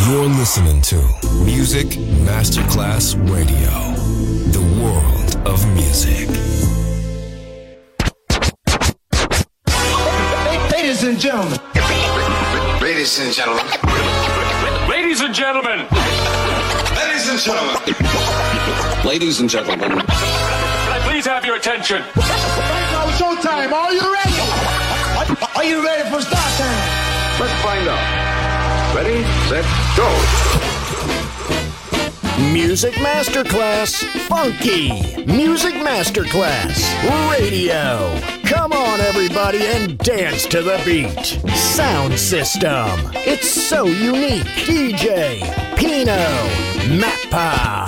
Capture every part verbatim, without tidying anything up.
You're listening to Music Masterclass Radio, the world of music. Ladies and gentlemen. Ladies and gentlemen. Ladies and gentlemen. Ladies and gentlemen. Ladies and gentlemen. Can I please have your attention? Right now, showtime. Are you ready? Are you ready for start time? Let's find out. Ready, set, go. Music Masterclass Funky. Music Masterclass Radio. Come on, everybody, and dance to the beat. Sound system. It's so unique. D J Pino Mappa.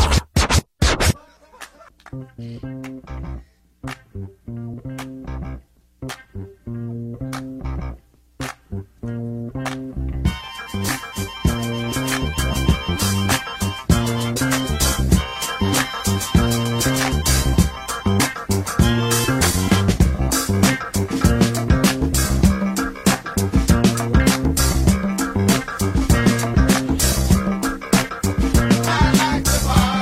I like the bar.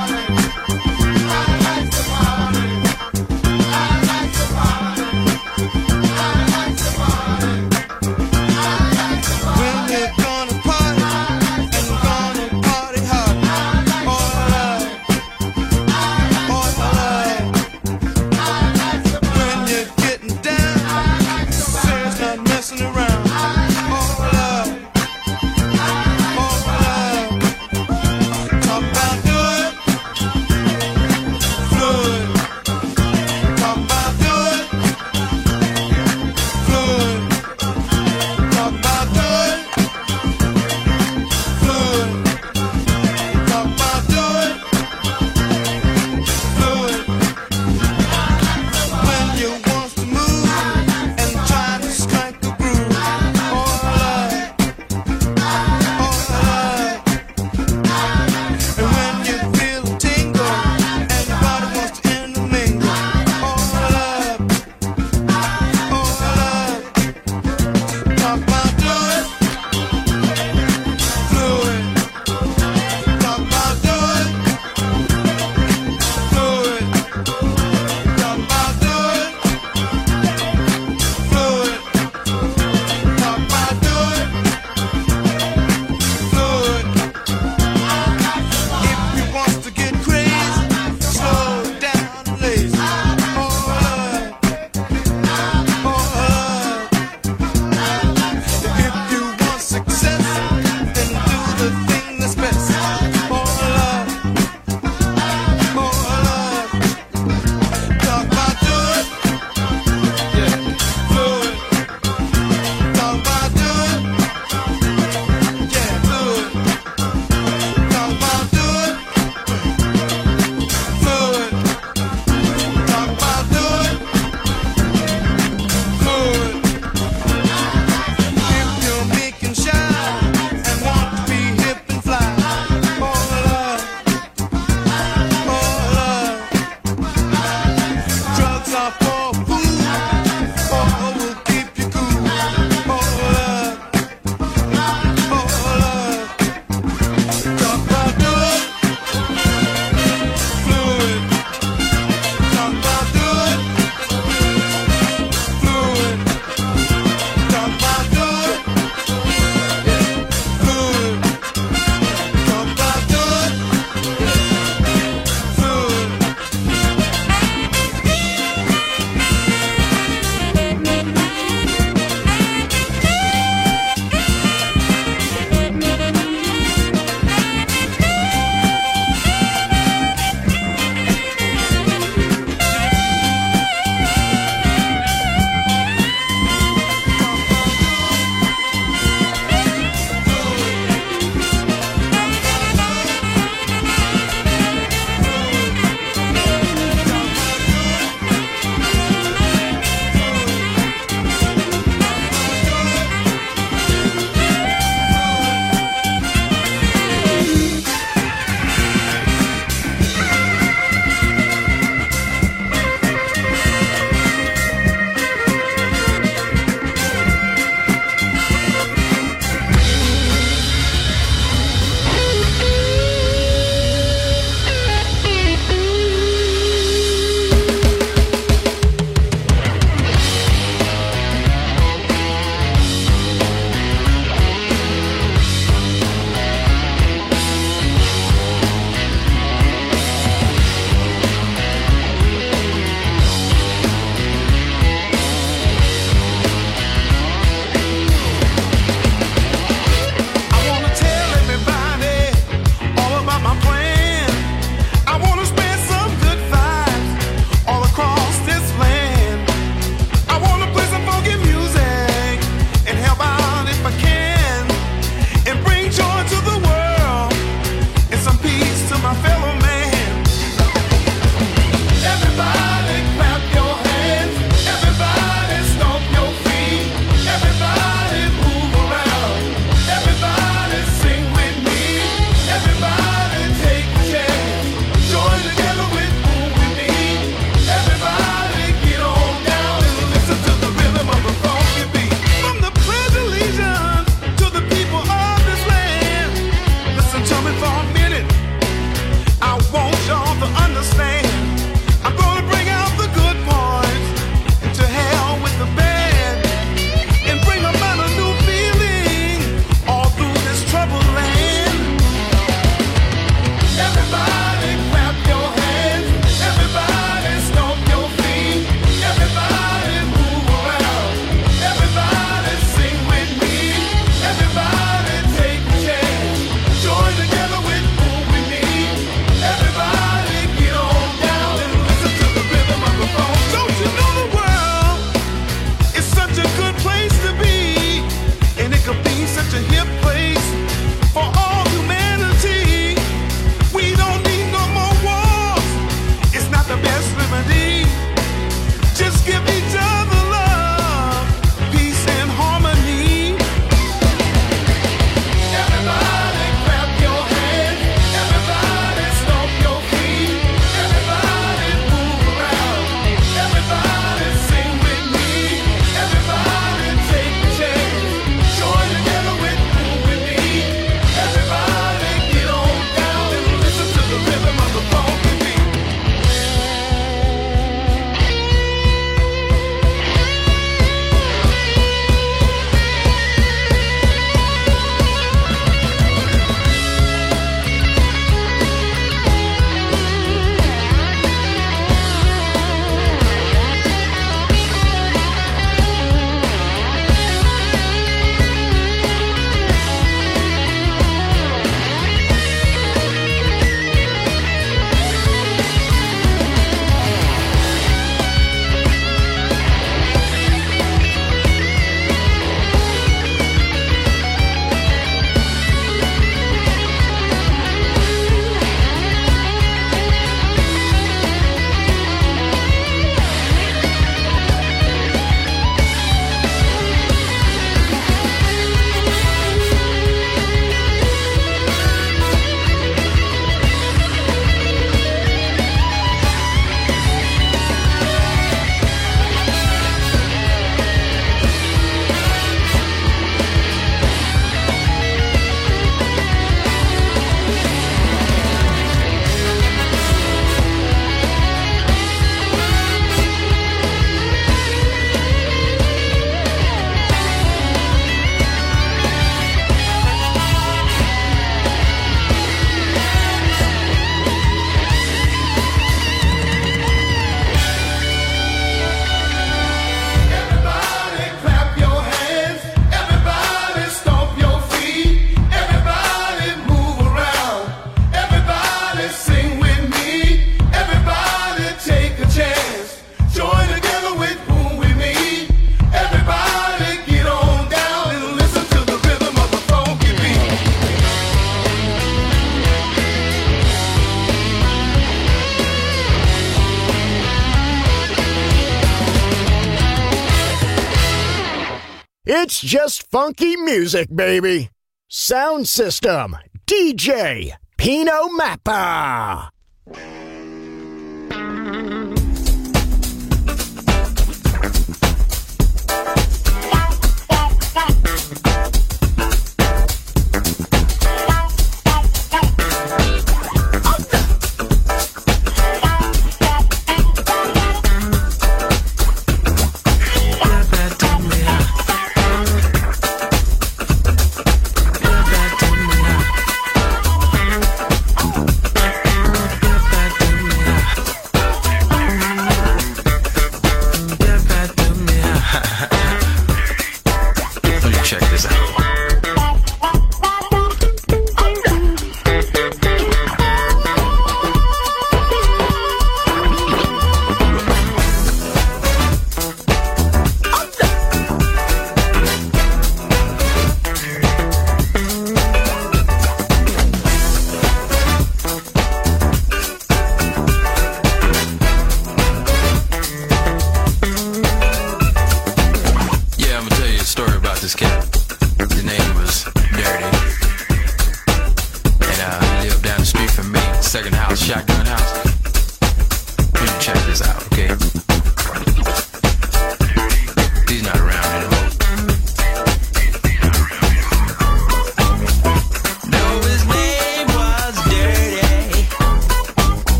It's just funky music, baby. Sound system, D J Pino Mappa.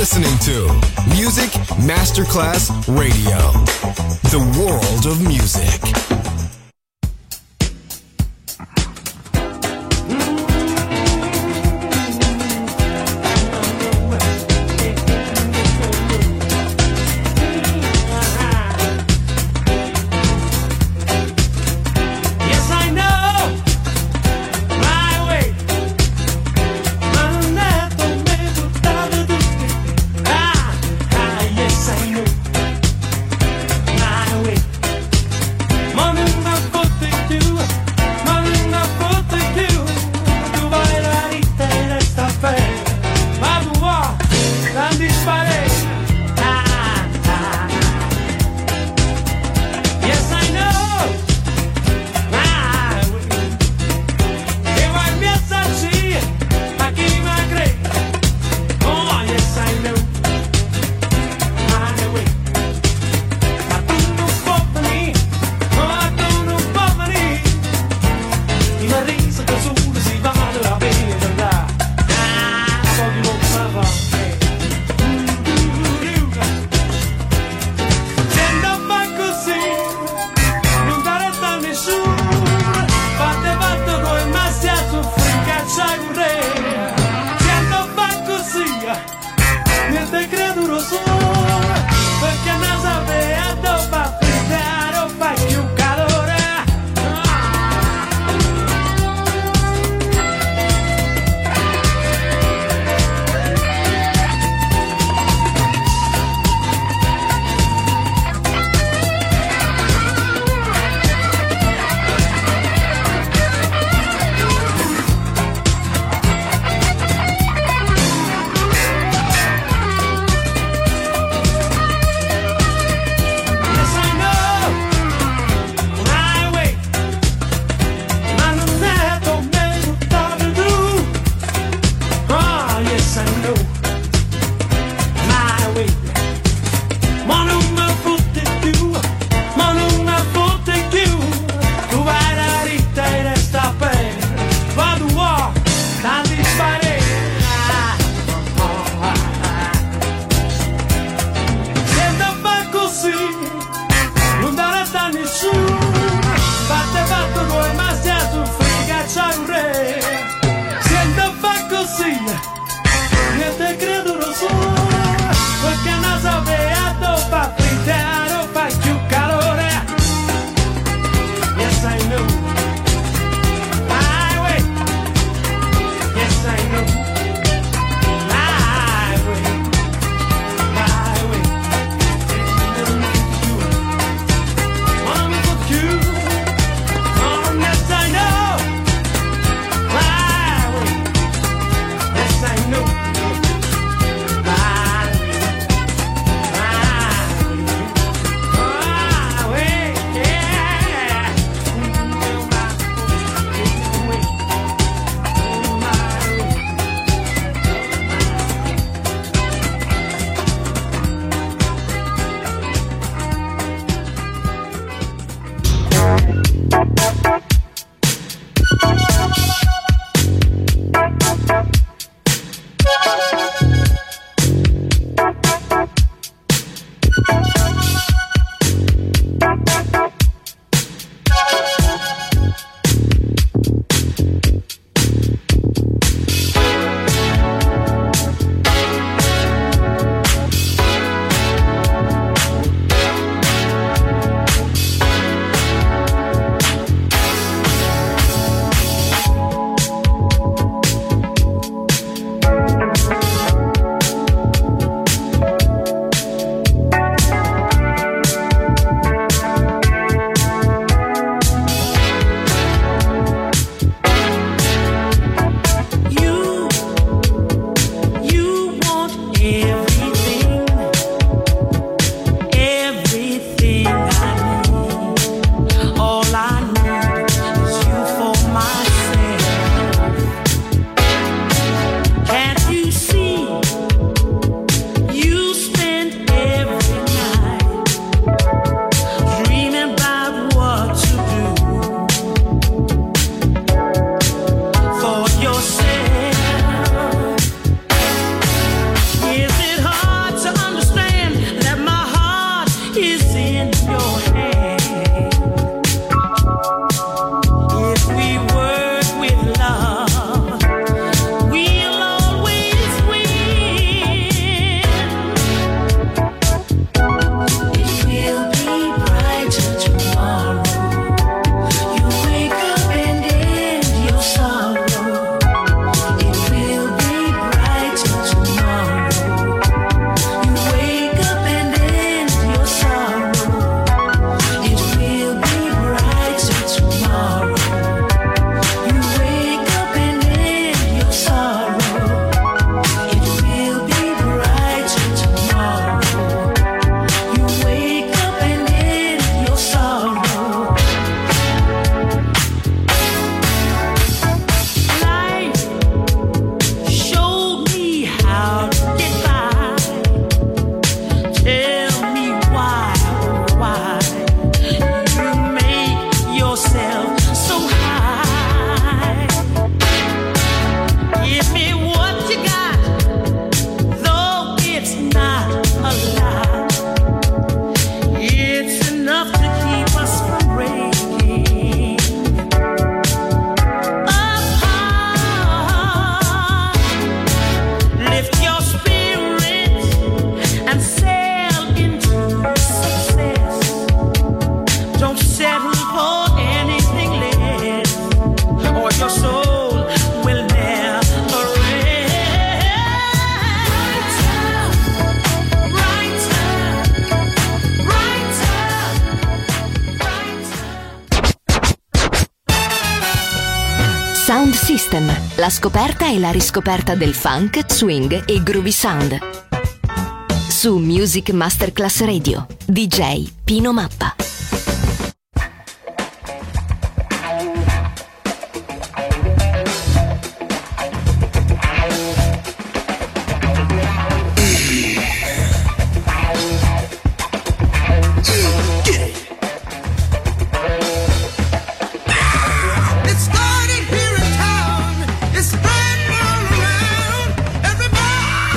listening to Music Masterclass Radio, the world of music. Money Sound System, la scoperta e la riscoperta del funk, swing e groovy sound. Su Music Masterclass Radio, D J Pino Mappa.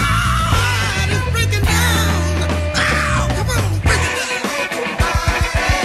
Everybody's breaking down. Oh, come on, break it down.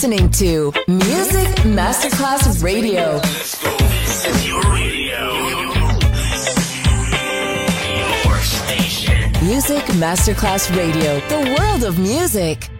listening to Music Masterclass Radio. This is your radio. Your station. Music Masterclass Radio. The world of music.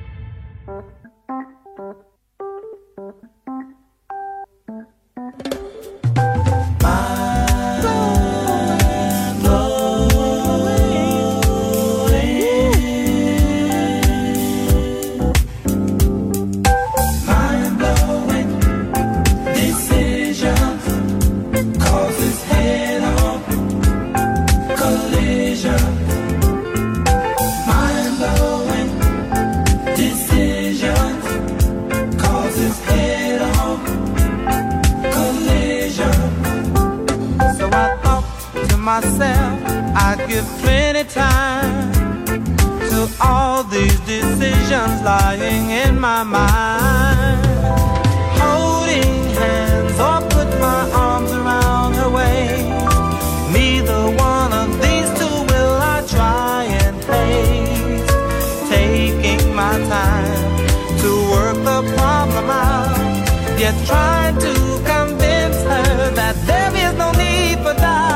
Myself, I'd give plenty time to all these decisions lying in my mind. Holding hands or put my arms around her waist. Neither one of these two will I try and haste. Taking my time to work the problem out, yet trying to convince her that there is no need for doubt.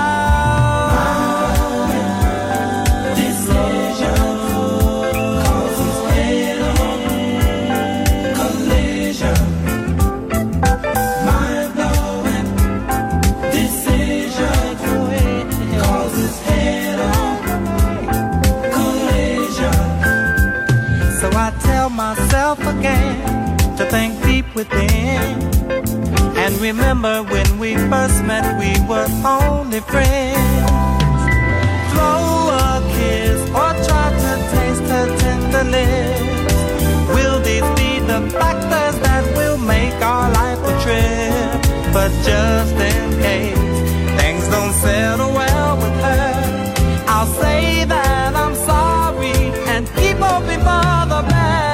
Myself again to think deep within and remember when we first met we were only friends. Throw a kiss or try to taste her tender lips. Will these be the factors that will make our life a trip? But just in case things don't settle well with her, I'll say that I'm sorry and keep hoping for the best.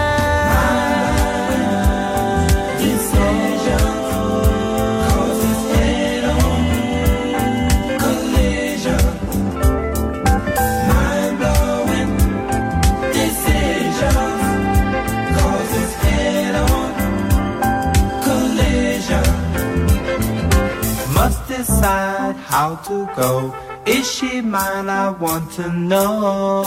Decide how to go. Is she mine? I want to know.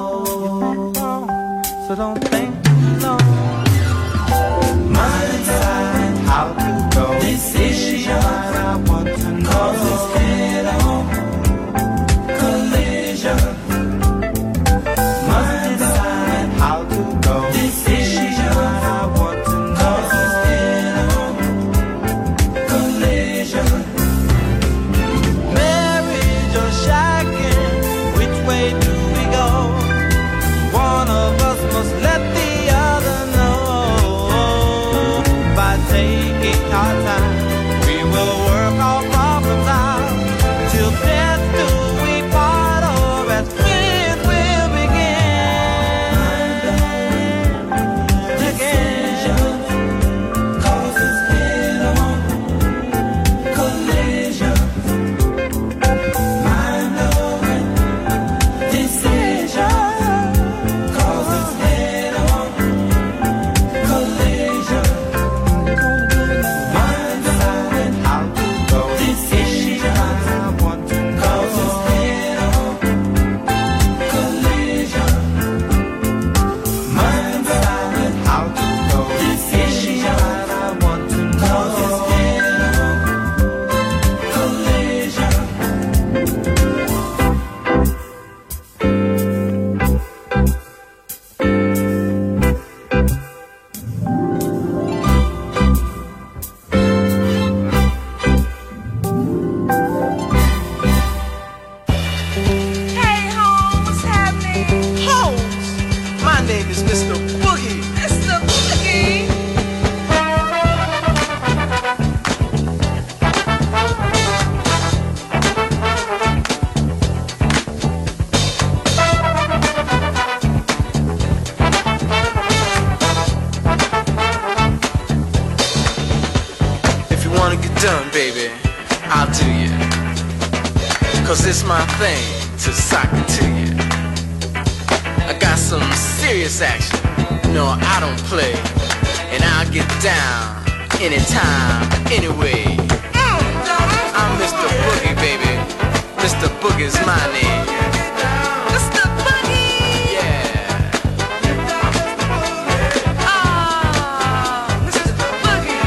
So don't think too long. Must decide how to go. Is she mine? I want to know. 'Cause it's head on collision. Must decide how to go. Is she mine? I want to know. 'Cause it's head on collision. Way do we go? One of us must let the other know. By taking our time, we will work our problems out. Till death do we part, or as friends we'll begin again. 'Cause it's head on collision. done, baby, I'll do you. Cause it's my thing to sock it to you. I got some serious action, no, I don't play. and I'll get down anytime, anyway. I'm Mister Boogie, baby. Mister Boogie's my name. Mister Boogie! Yeah. Ah, Mister Boogie.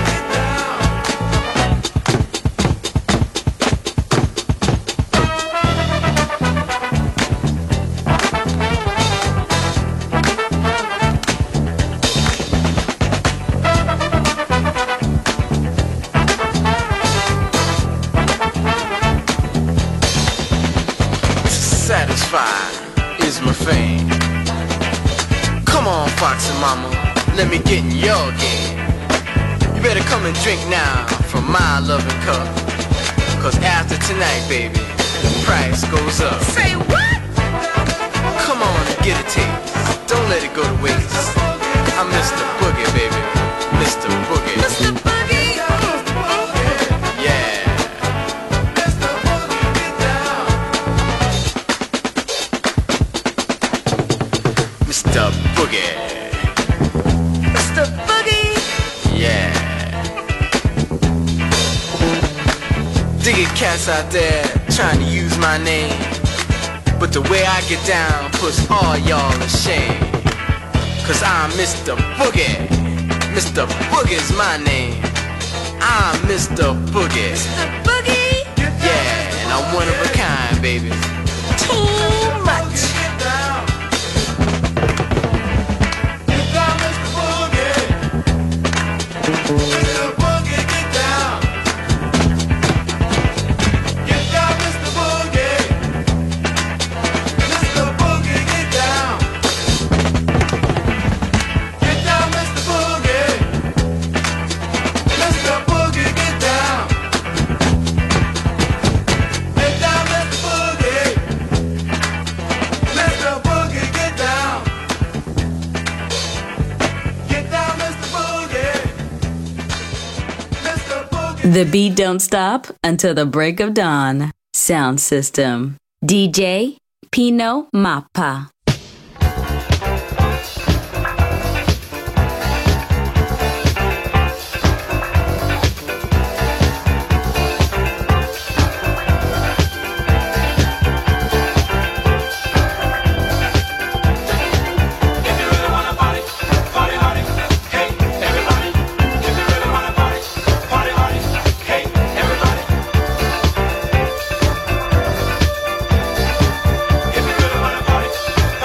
Satisfied is my fame. Come on, Foxy Mama, let me get in your game. You better come and drink now from my loving cup. Cause after tonight, baby, the price goes up. Say what? Come on and get a taste. Don't let it go to waste. I'm Mister Boogie, baby. Mister Boogie. Mister Boogie. Mister Boogie. Mister Boogie. Yeah. Dig it, cats out there trying to use my name, but the way I get down puts all y'all to shame. Cause I'm Mister Boogie. Mister Boogie's my name. I'm Mister Boogie. Mister Boogie. Yeah, and I'm one of a kind, baby. Too much. Mister Boogie, get down. Get down, Mister Boogie. Mister Boogie, get down. Get down, Mister Boogie. Mister Boogie, get down. Get down, Mister Boogie. Mister Boogie, get down. Get down, Mister Boogie. The beat don't stop until the break of dawn. Sound System. D J Pino Mappa. If you really wanna party,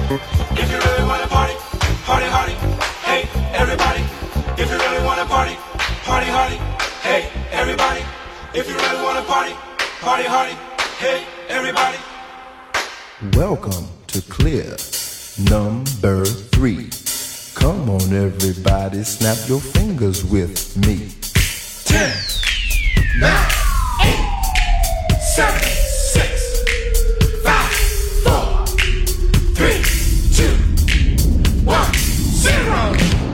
If you really wanna party, party hardy. Hey, everybody. If you really wanna party, party hardy. Hey, everybody. If you really wanna party, party hardy. Hey, everybody. Welcome to Clear number three. Come on, everybody, snap your fingers with me. Ten, nine, eight, seven, six, five, four, three, two, one, zero.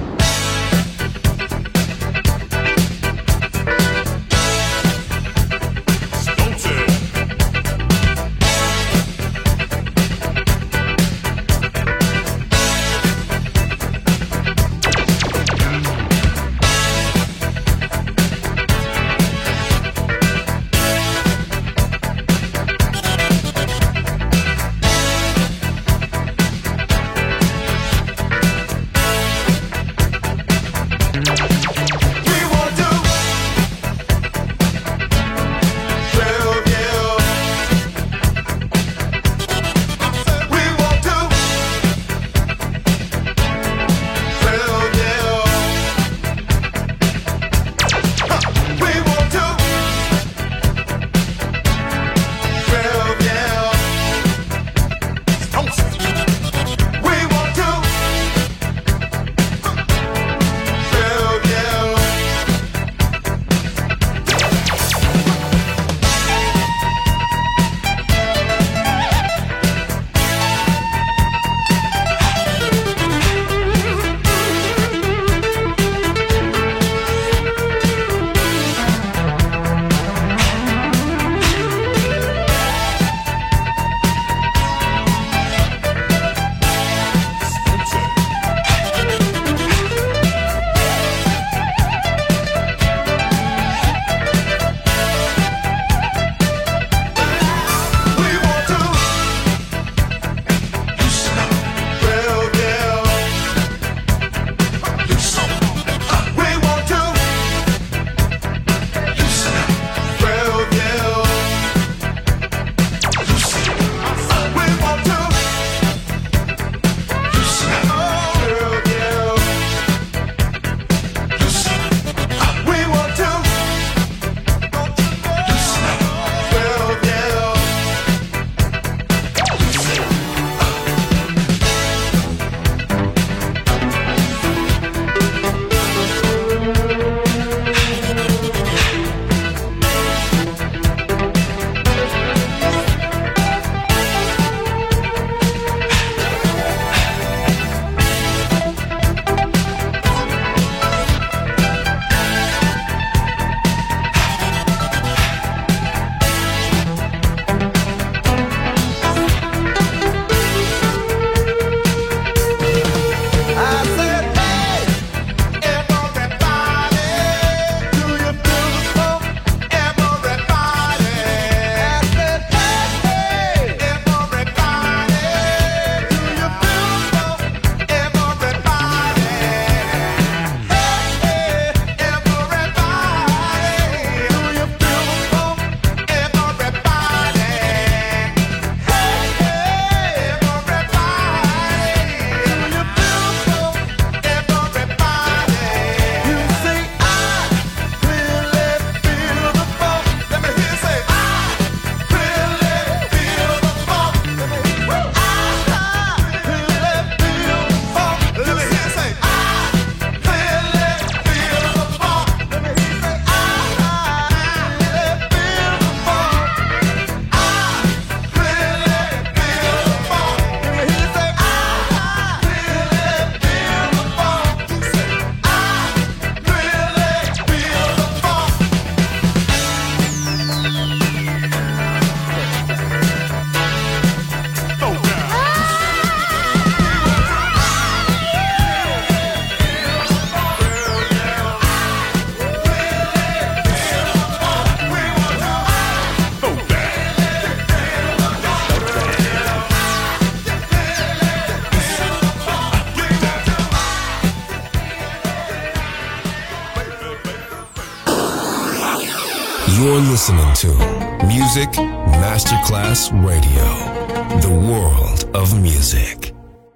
You're listening to Music Masterclass Radio, the world of music.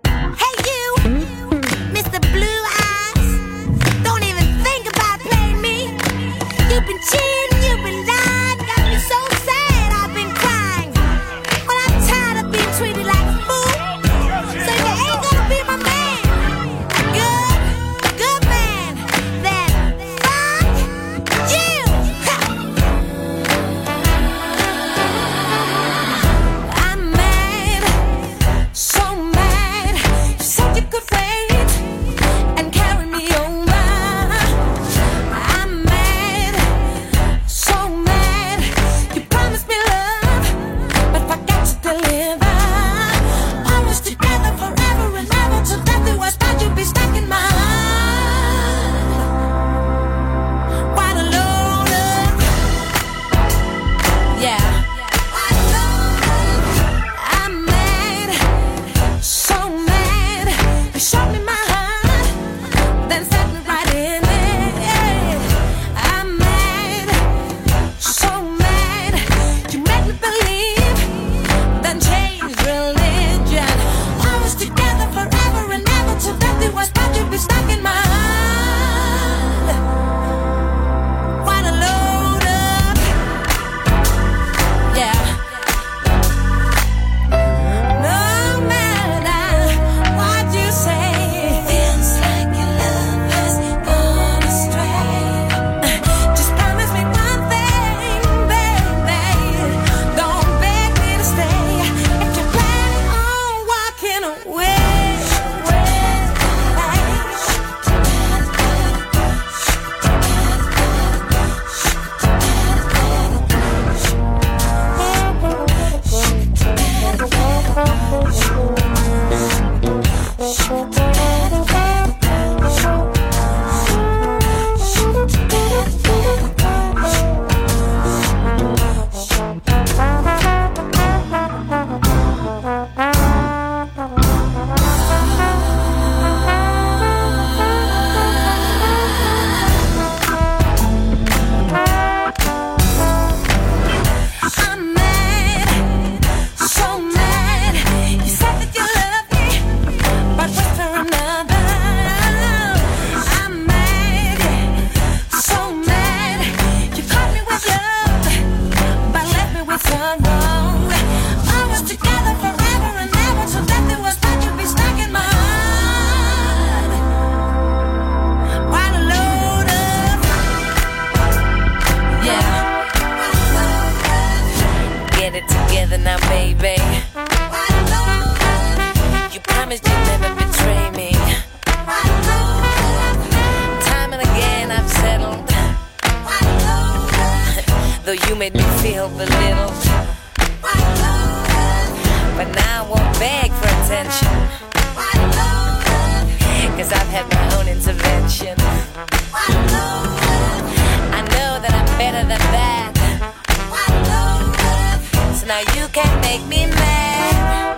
though you made me feel belittled. But now I won't beg for attention, cause I've had my own intervention. I know that I'm better than that, so now you can't make me mad.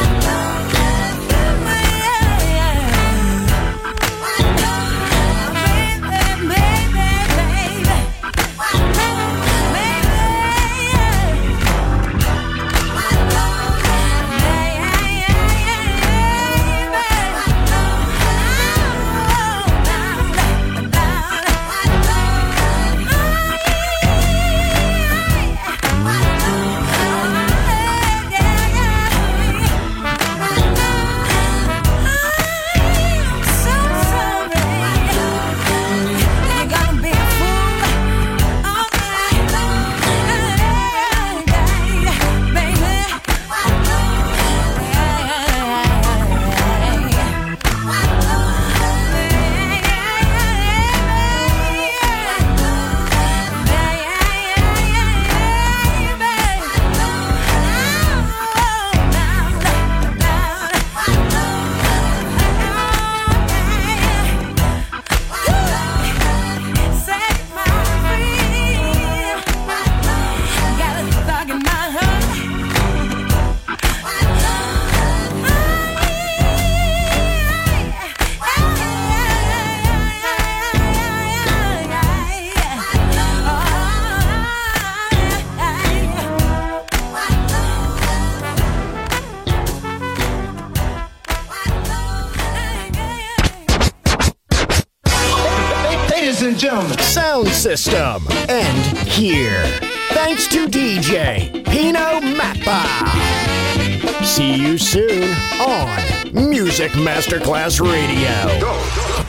Sound system. And here. Thanks to D J Pino Mappa. See you soon on Music Masterclass Radio.